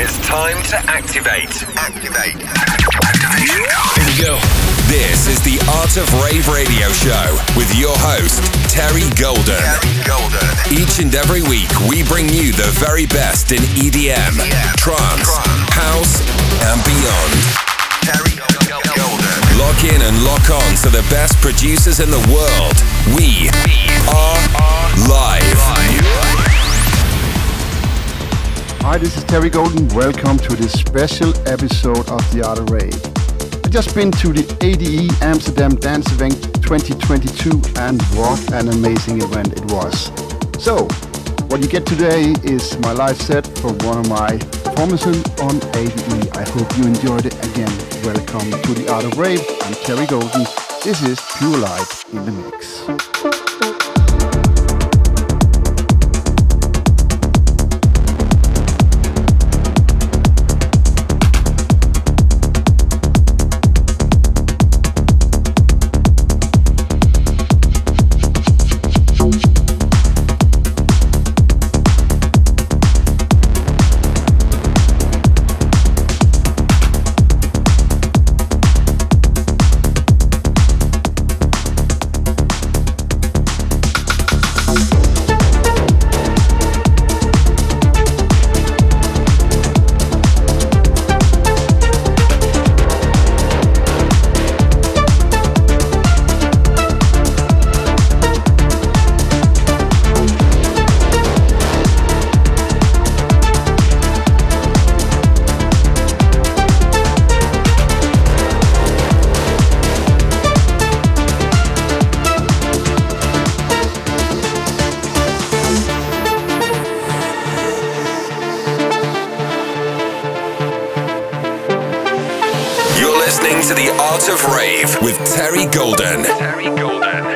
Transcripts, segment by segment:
It's time to activate. Activation code. Here we go. This is the Art of Rave radio show with your host, Terry Golden. Each and every week, we bring you the very best in EDM, trance, house, and beyond. Terry Golden. Lock in and lock on to the best producers in the world. We are live. Hi, this is Terry Golden. Welcome to this special episode of The Art of Rave. I've just been to the ADE Amsterdam Dance Event 2022 and what an amazing event it was. So, what you get today is my live set from one of my performances on ADE. I hope you enjoyed it again. Welcome to The Art of Rave. I'm Terry Golden. This is Pure Light in the Mix. To the Art of Rave with Terry Golden. Terry Golden.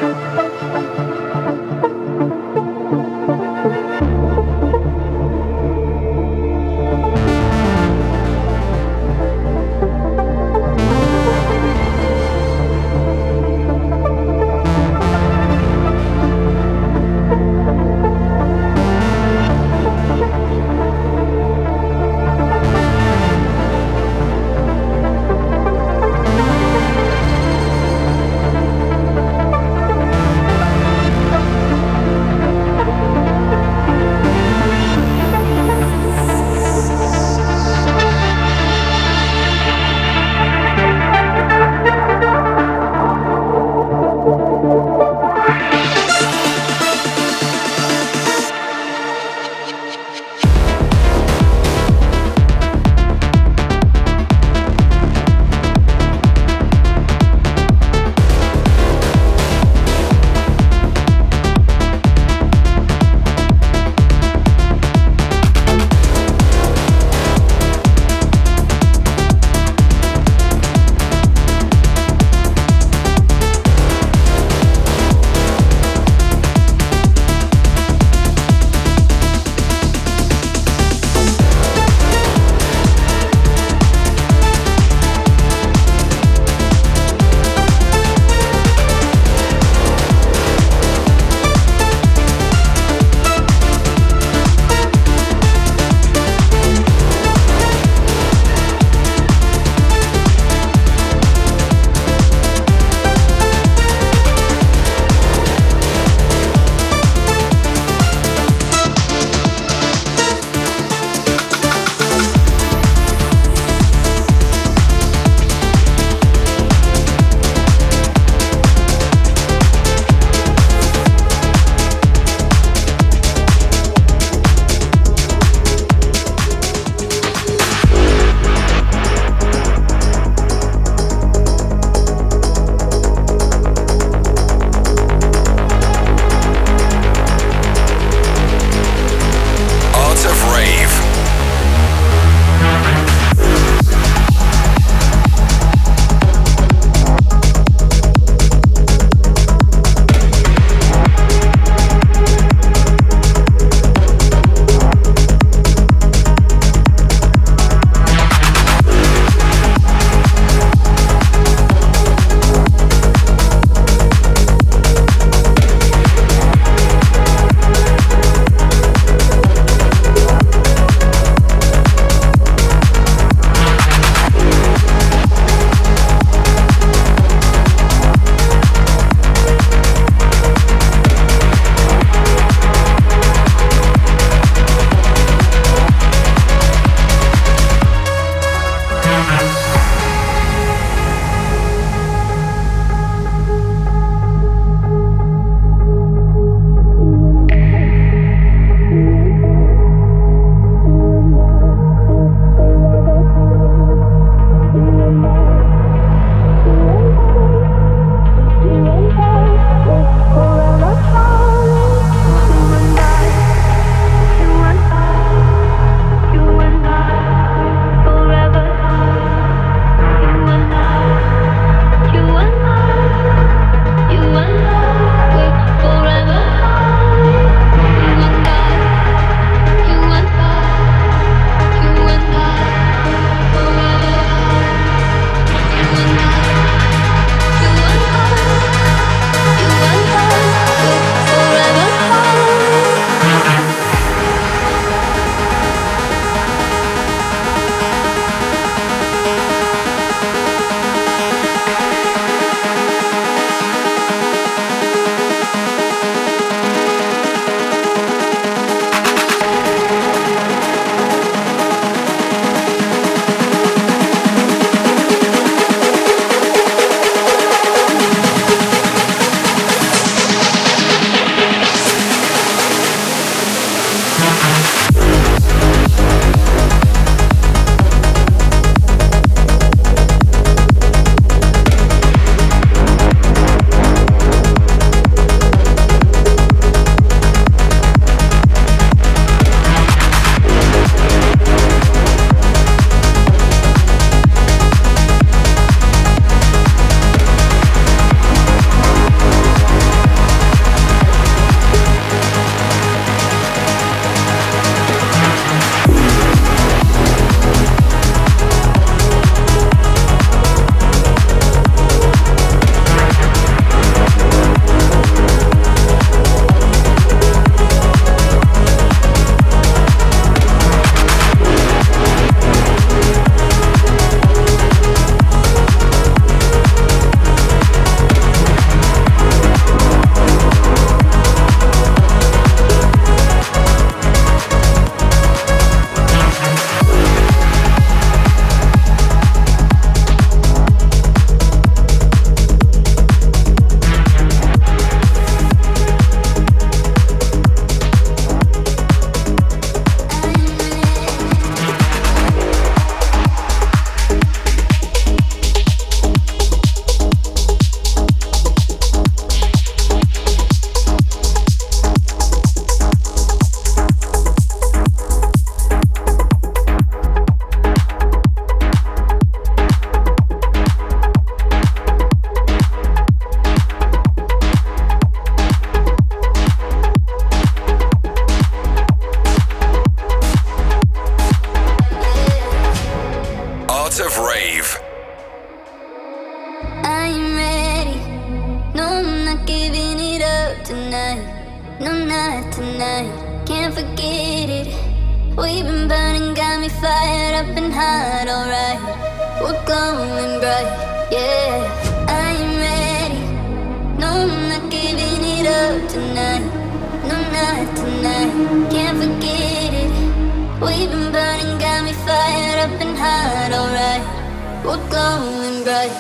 forget it. We've been burning, got me fired up and hot, alright. We're glowing bright, yeah. I am ready. No, I'm not giving it up tonight. No, not tonight. Can't forget it. We've been burning, got me fired up and hot, alright. We're glowing bright.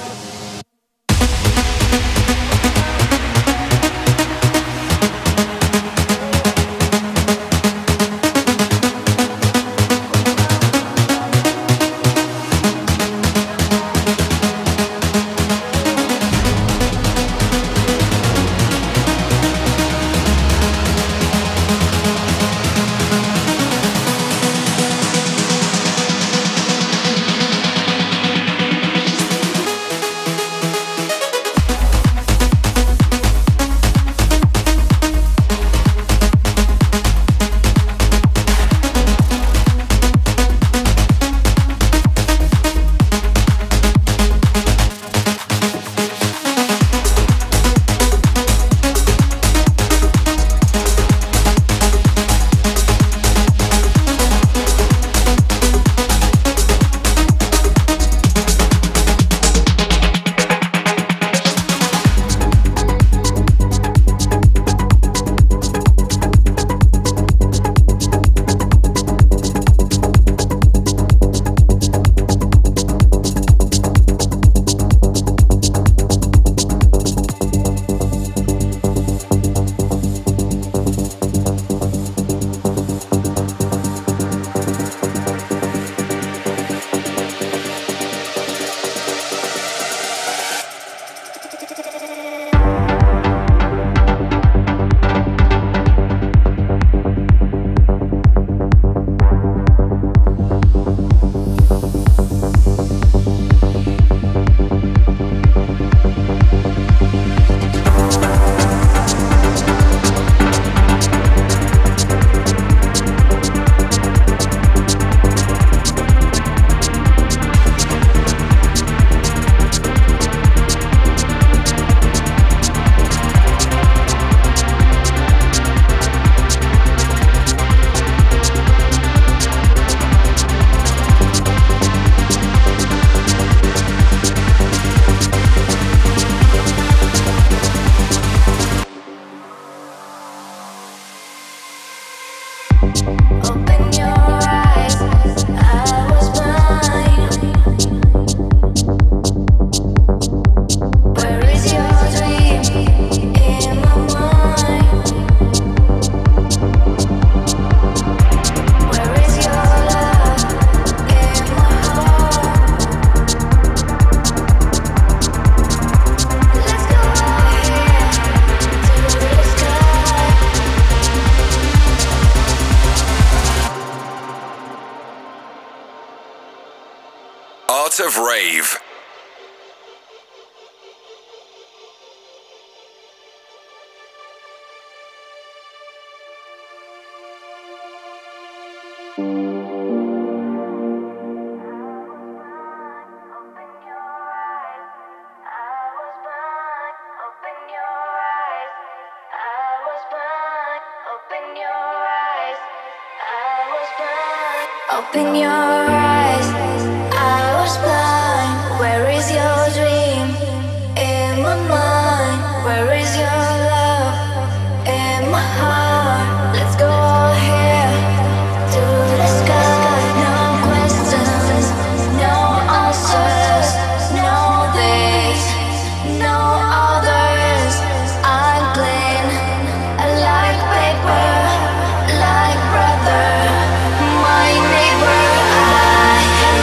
Of Rave. Open your eyes, I was blind. Where is your dream? In my mind. Where is your love? In my heart. Let's go here to the sky. No questions, no answers, no this, no others. I'm clean, like paper, like brother. My neighbor, I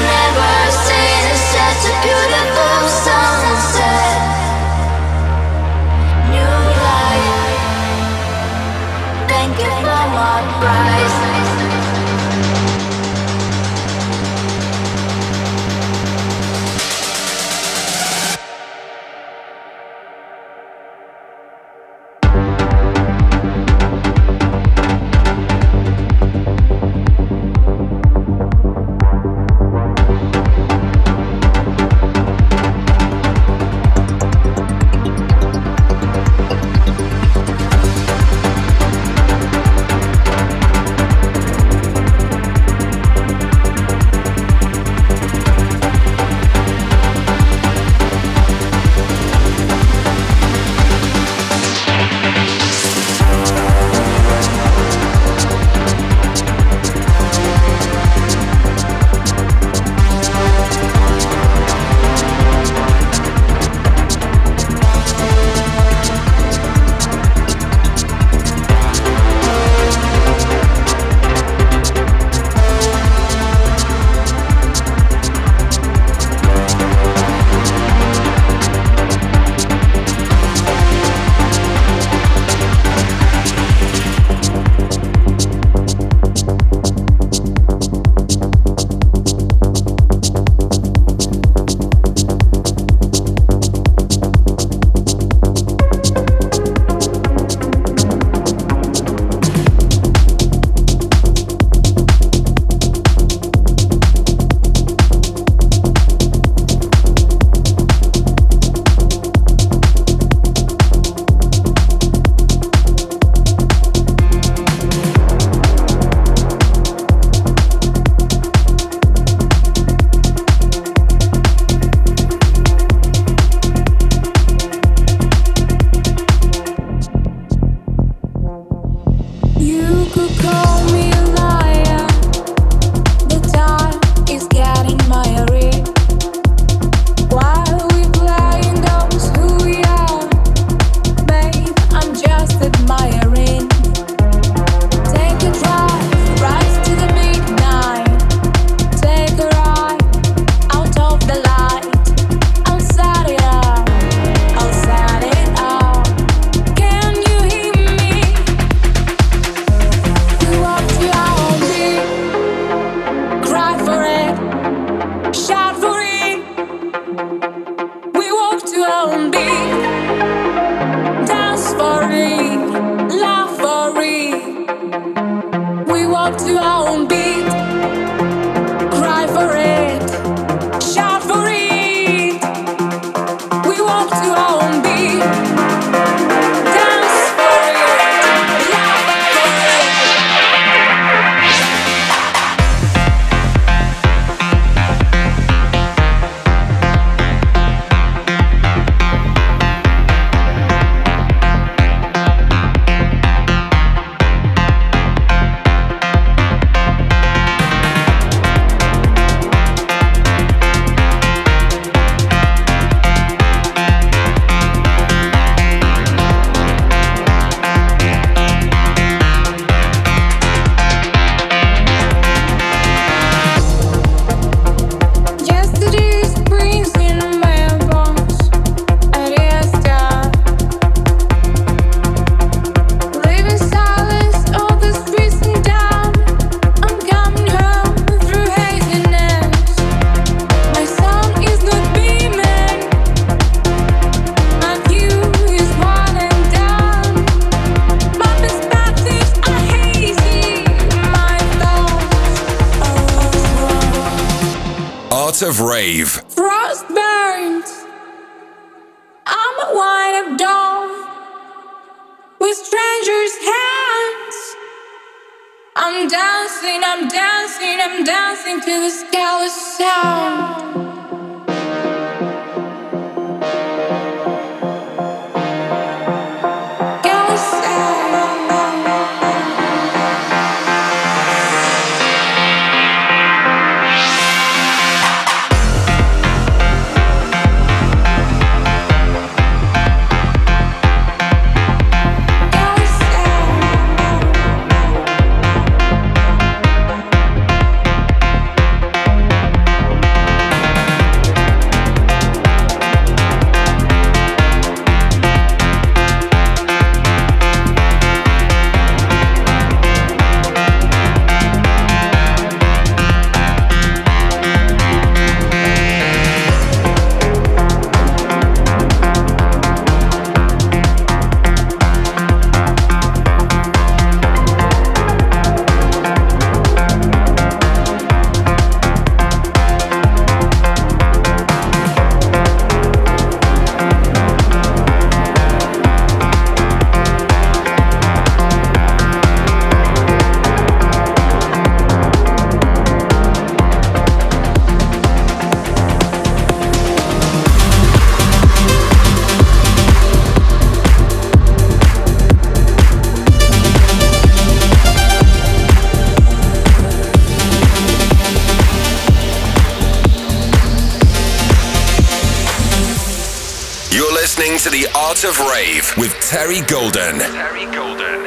Art of Rave. Frost burns. I'm a wind up doll with strangers' hands. I'm dancing, I'm dancing, I'm dancing to the scandalous sound. To the Art of Rave with Terry Golden. Terry Golden.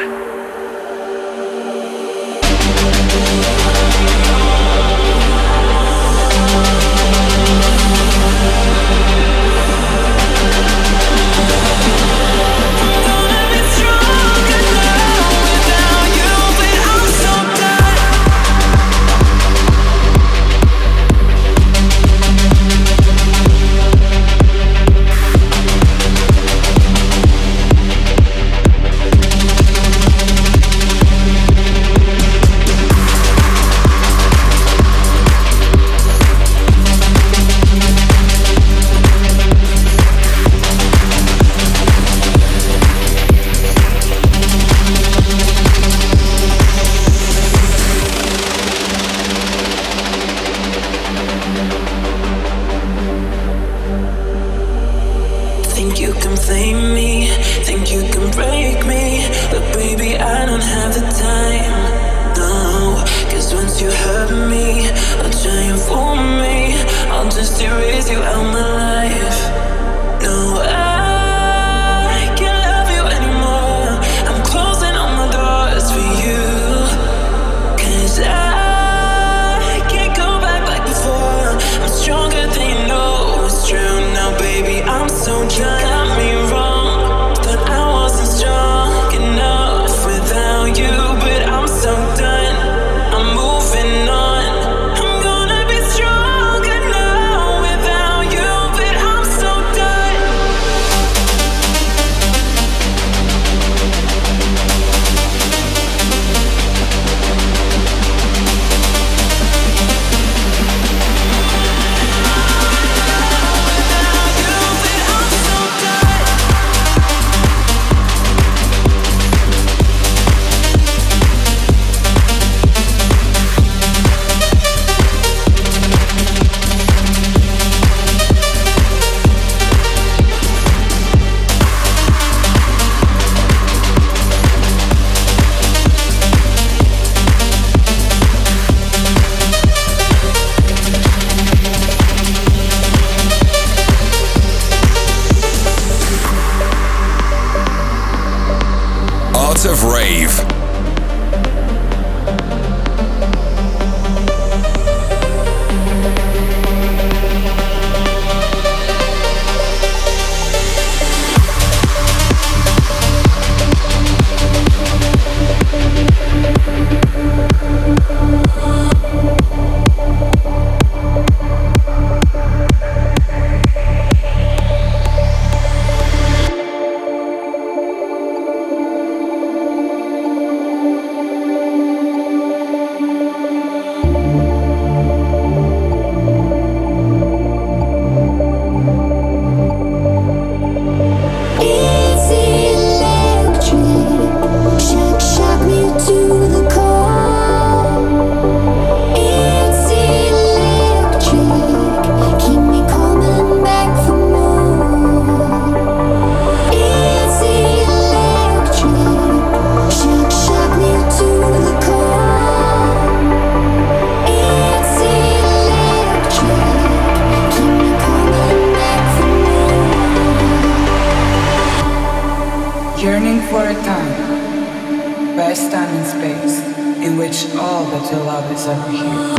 over here.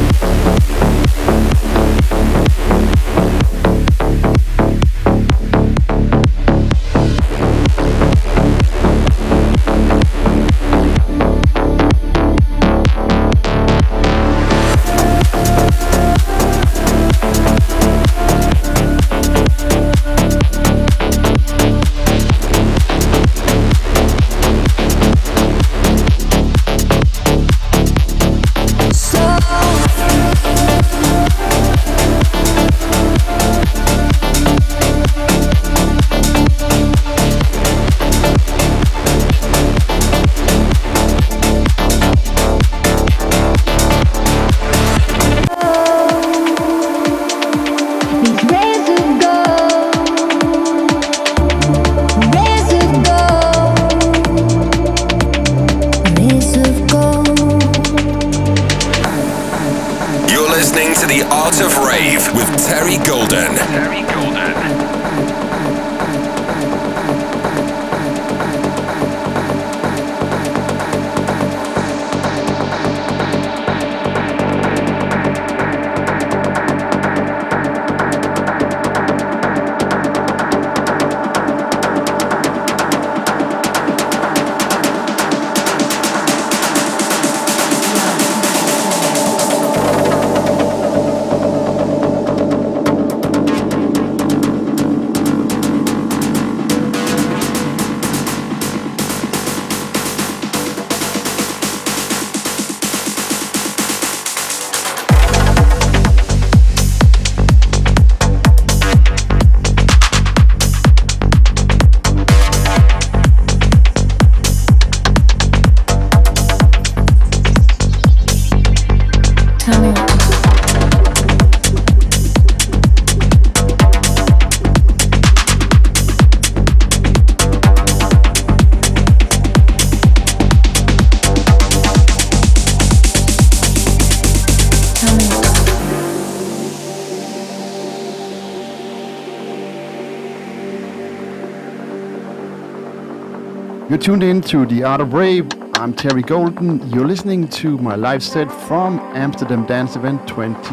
You're tuned in to The Art of Rave. I'm Terry Golden. You're listening to my live set from Amsterdam Dance Event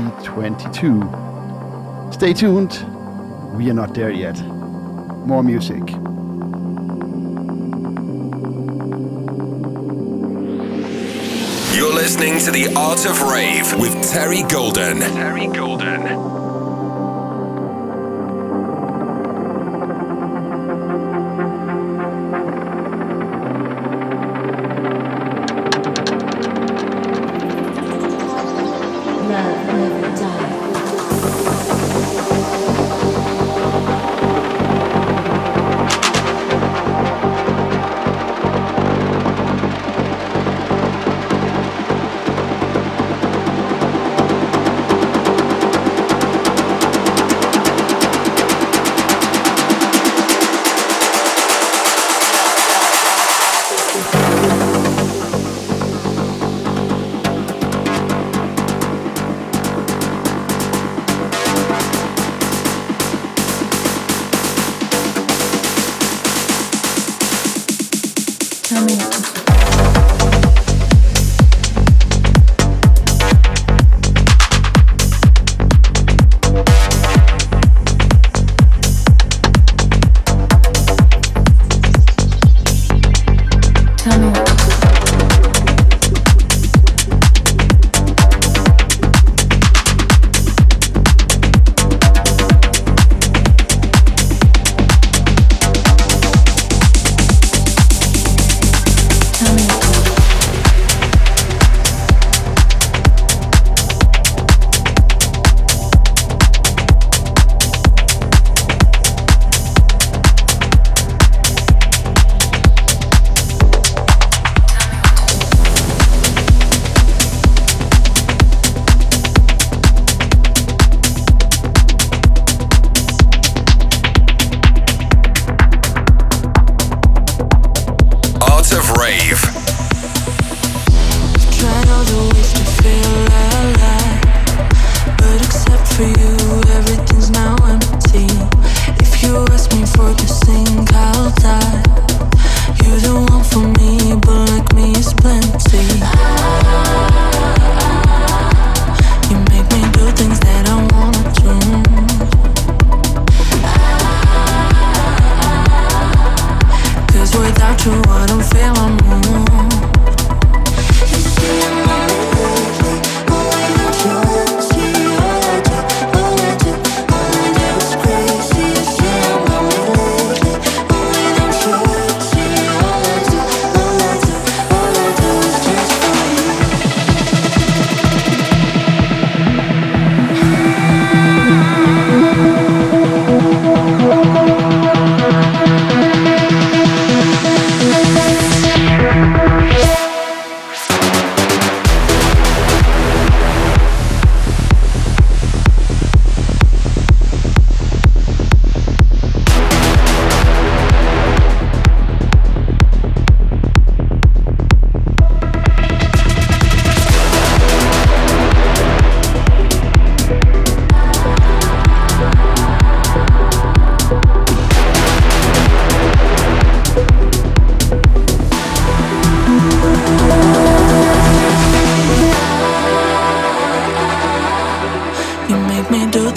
2022. Stay tuned. We are not there yet. More music. You're listening to The Art of Rave with Terry Golden. Terry Golden.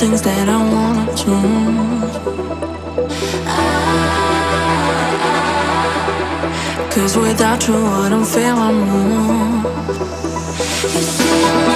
things that I wanna do. Cause without you I don't feel I'm more. You see I'm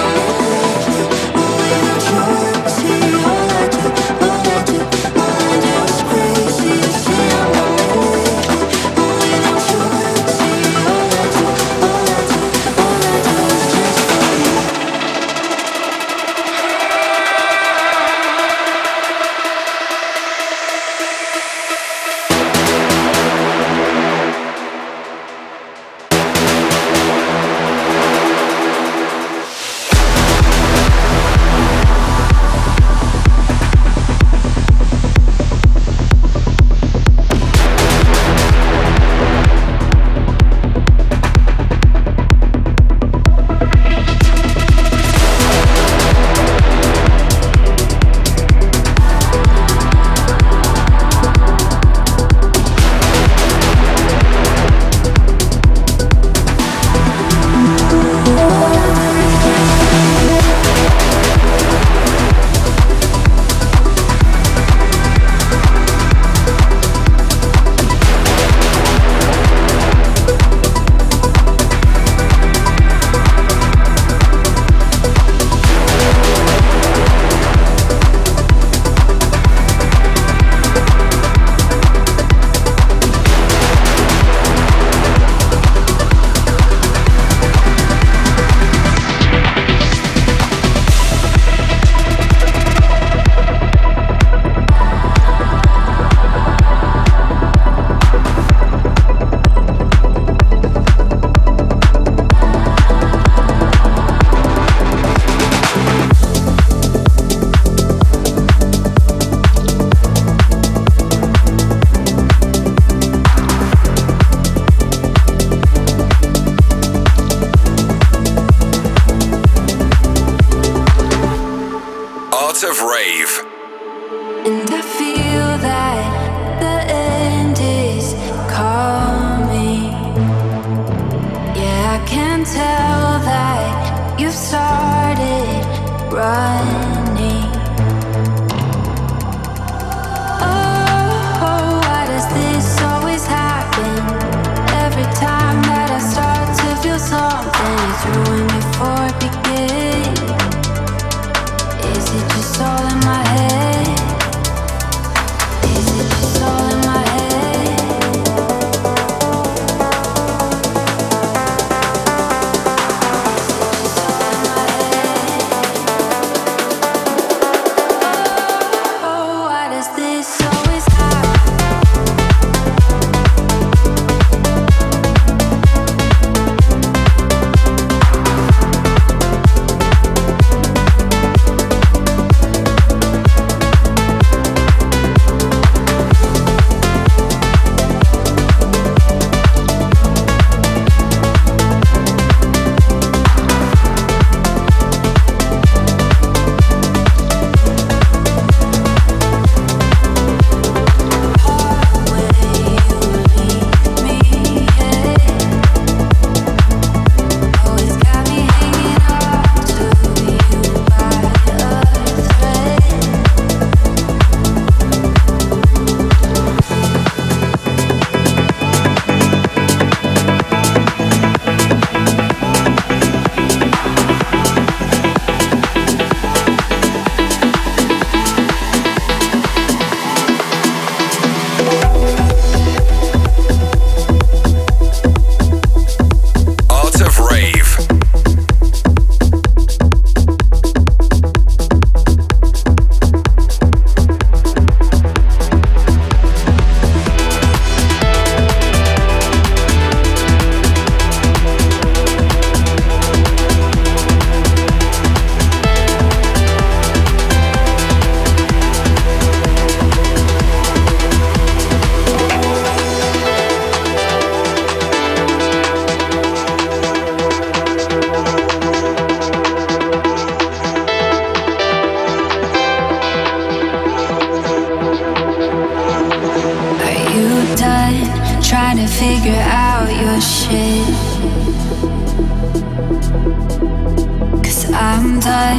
figure out your shit. 'Cause I'm done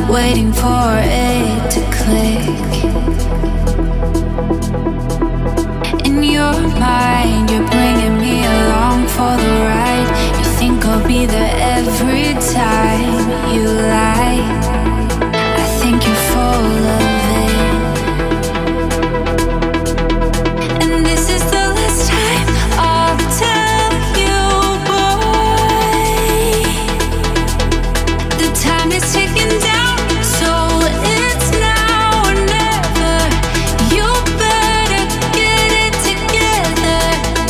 waiting for it to click. In your mind, you're bringing me along for the ride. You think I'll be there every time you lie. I think you're full of it. And this is the last time I'll tell you, boy. The time is ticking down, so it's now or never. You better get it together.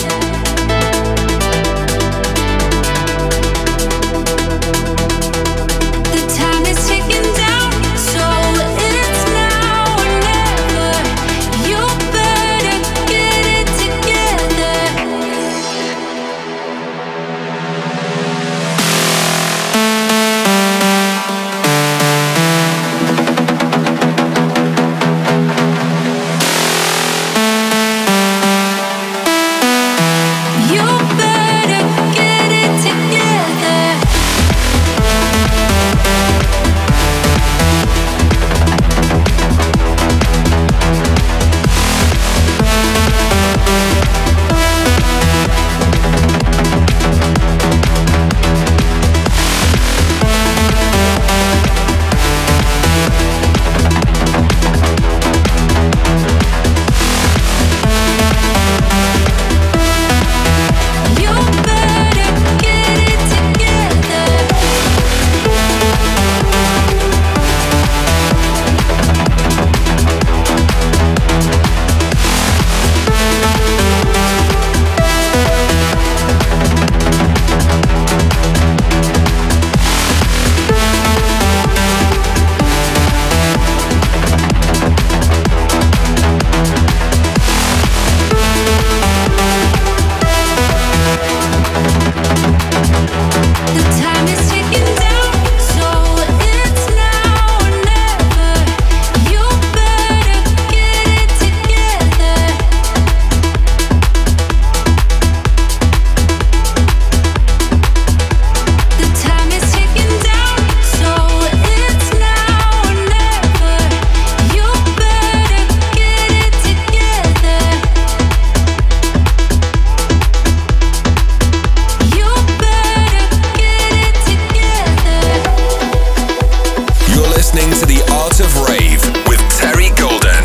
The time is ticking down, so it's now or never. You better get it together. You better get it together. You better get it together. The time is ticking down, so it's now or never. You better get it together. The time is ticking down, so it's now or never. You better get it together. You better get it together. You're listening to The Art of Rave with Terry Golden.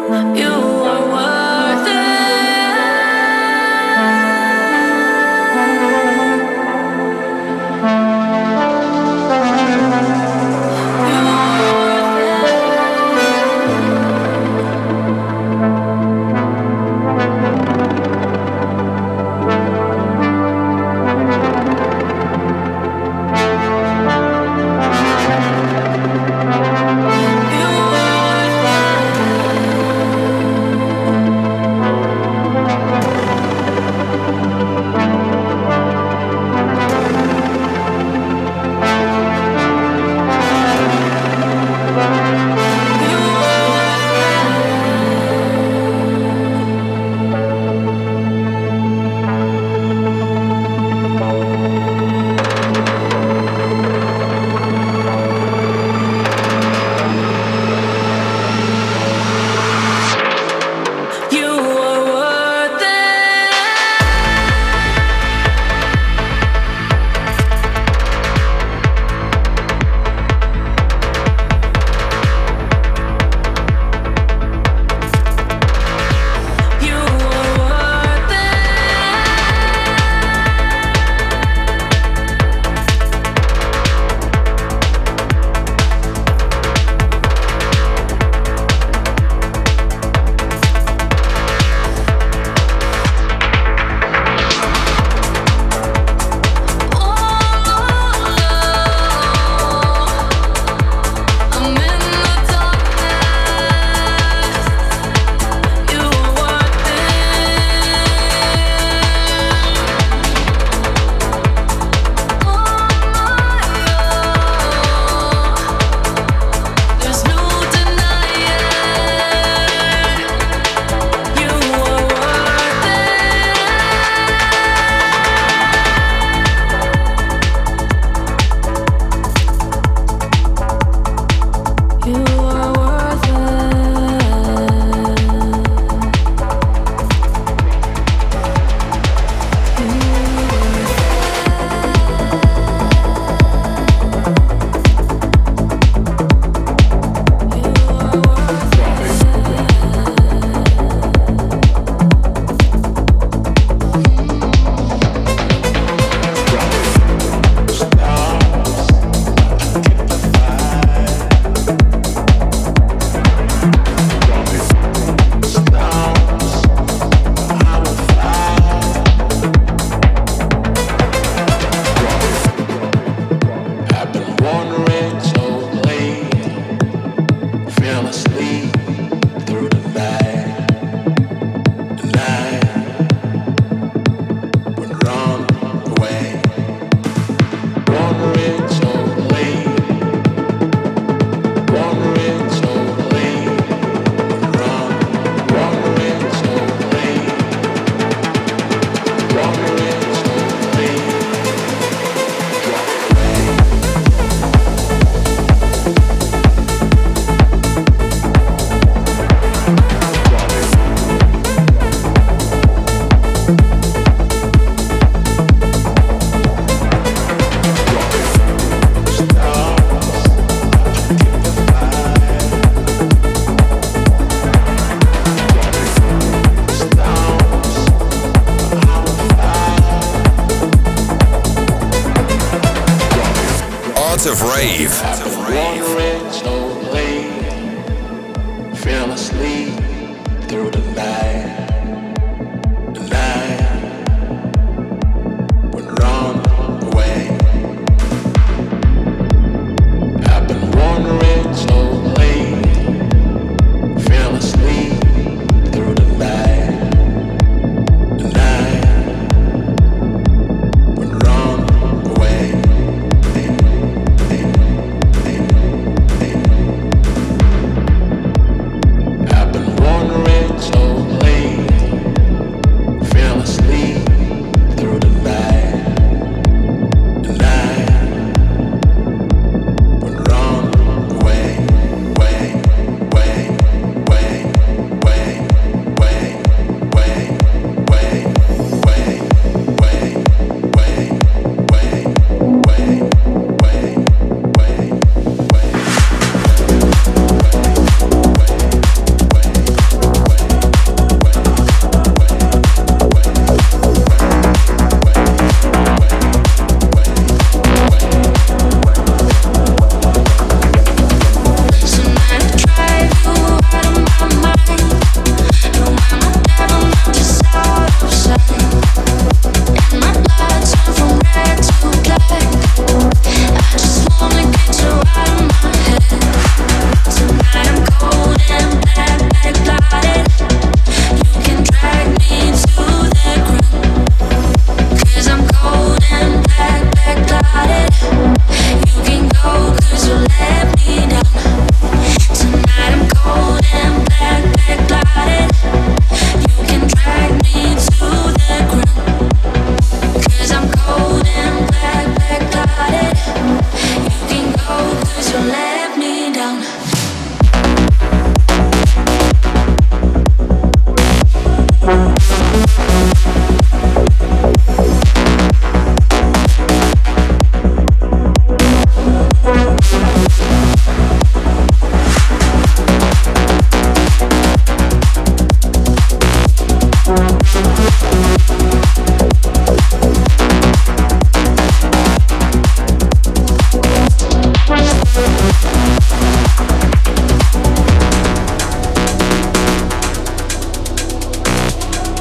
Of Rave. Wandering slowly, fell asleep through the night. The night would run away. I've been wandering slowly, fell asleep through the night. The night would run away. I've been wandering slowly.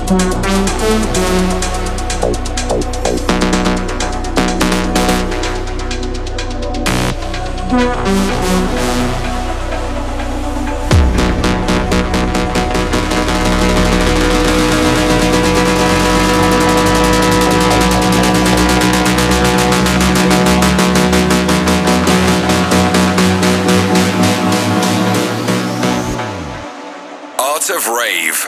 Of Rave.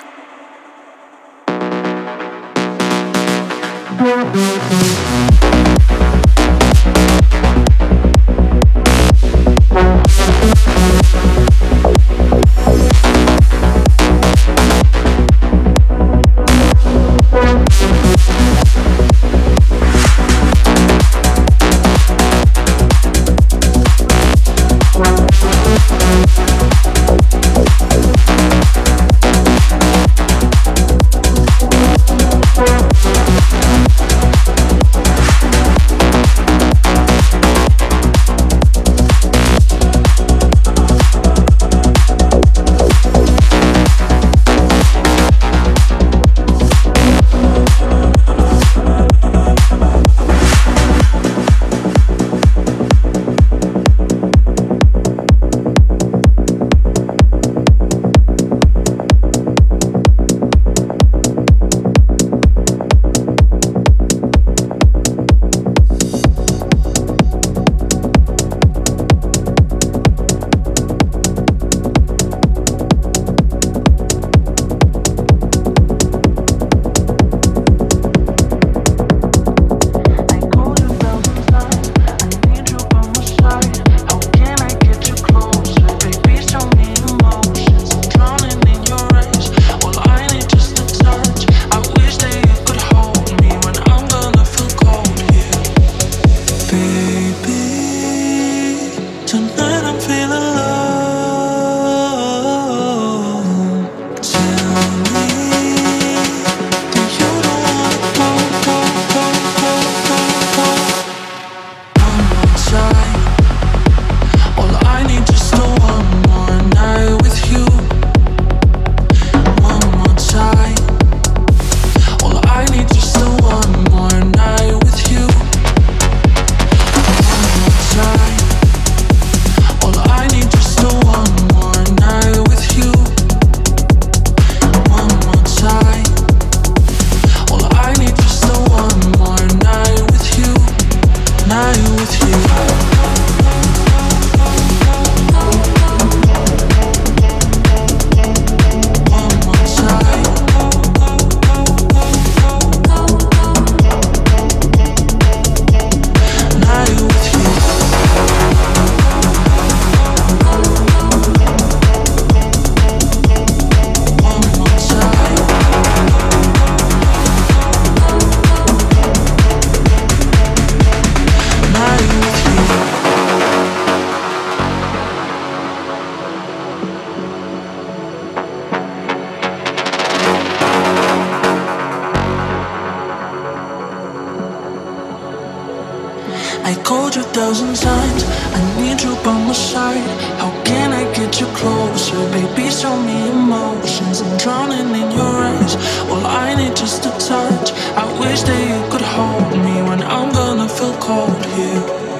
I called you 1,000 times, I need you by my side. How can I get you closer? Baby, show me emotions. I'm drowning in your eyes. All I need just a touch. I wish that you could hold me when I'm gonna feel cold here.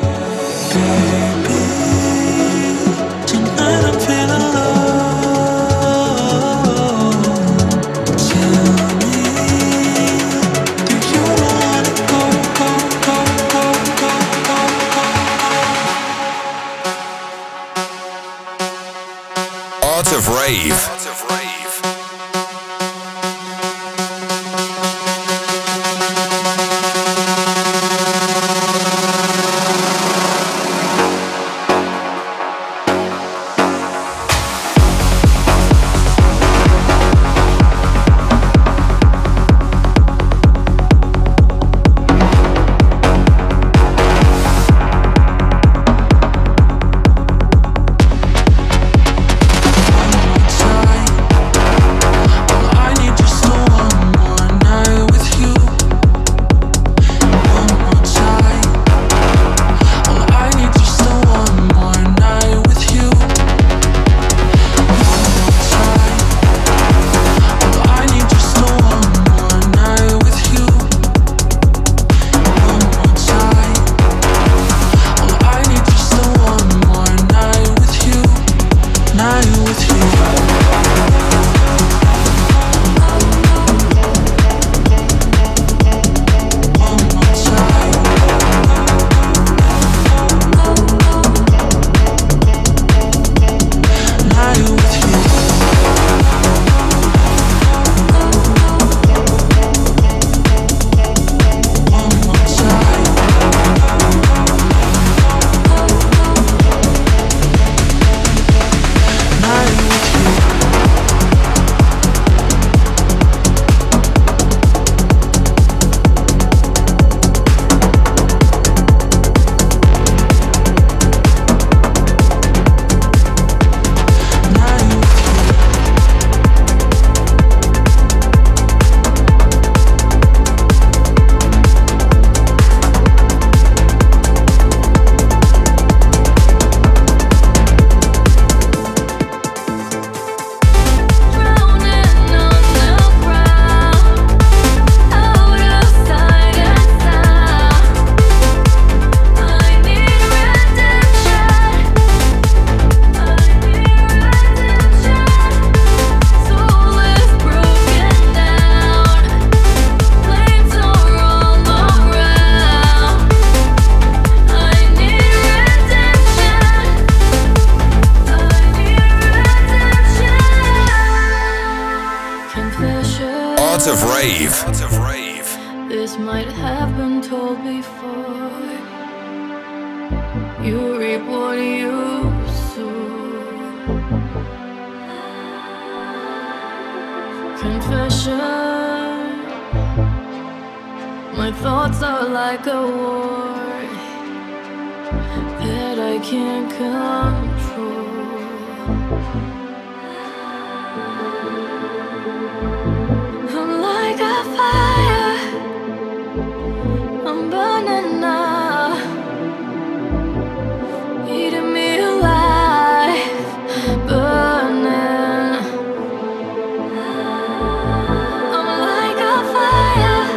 Baby, tonight I'm feeling low. Art of Rave. Art of Rave. This might have been told before. You reap what you sow. Confession. My thoughts are like a war that I can't control. I'm like a fire, I'm burning now, eating me alive, burning. I'm like a fire,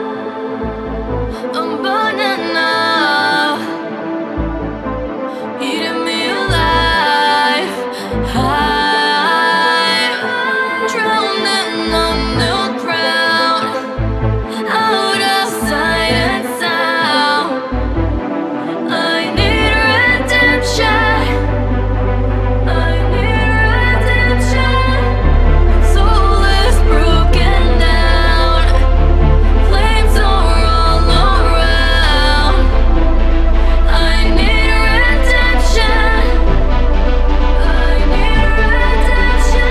I'm burning now, eating me alive. I'm drowning on new ground, out of sight and sound. I need redemption, I need redemption. Soul is broken down, flames are all around. I need redemption, I need redemption.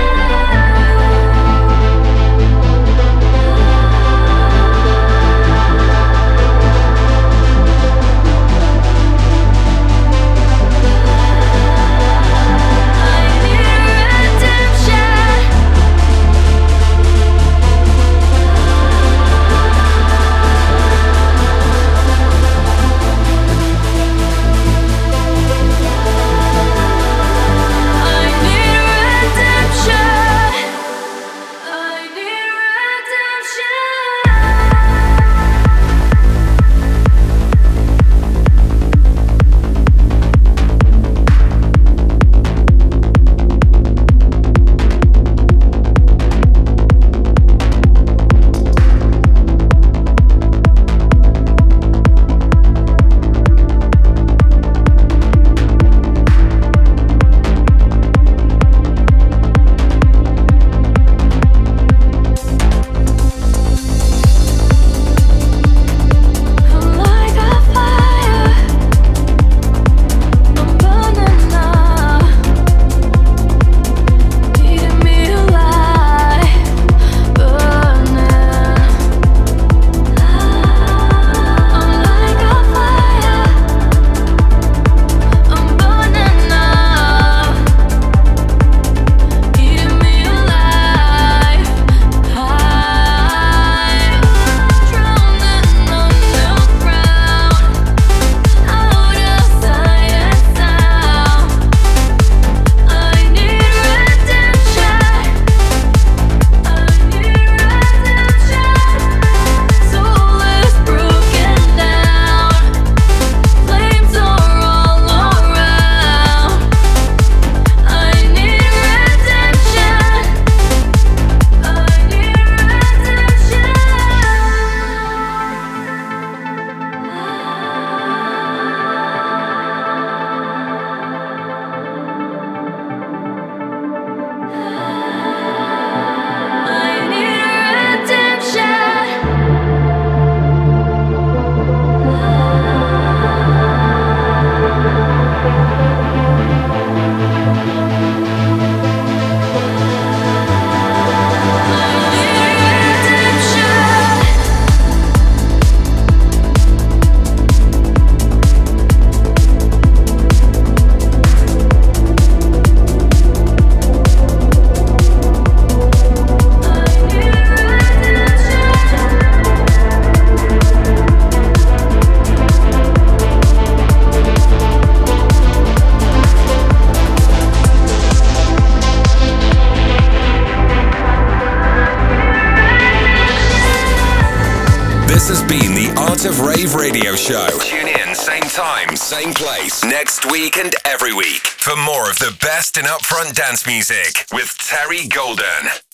This has been the Art of Rave radio show. Tune in, same time, same place, next week and every week for more of the best in upfront dance music with Terry Golden.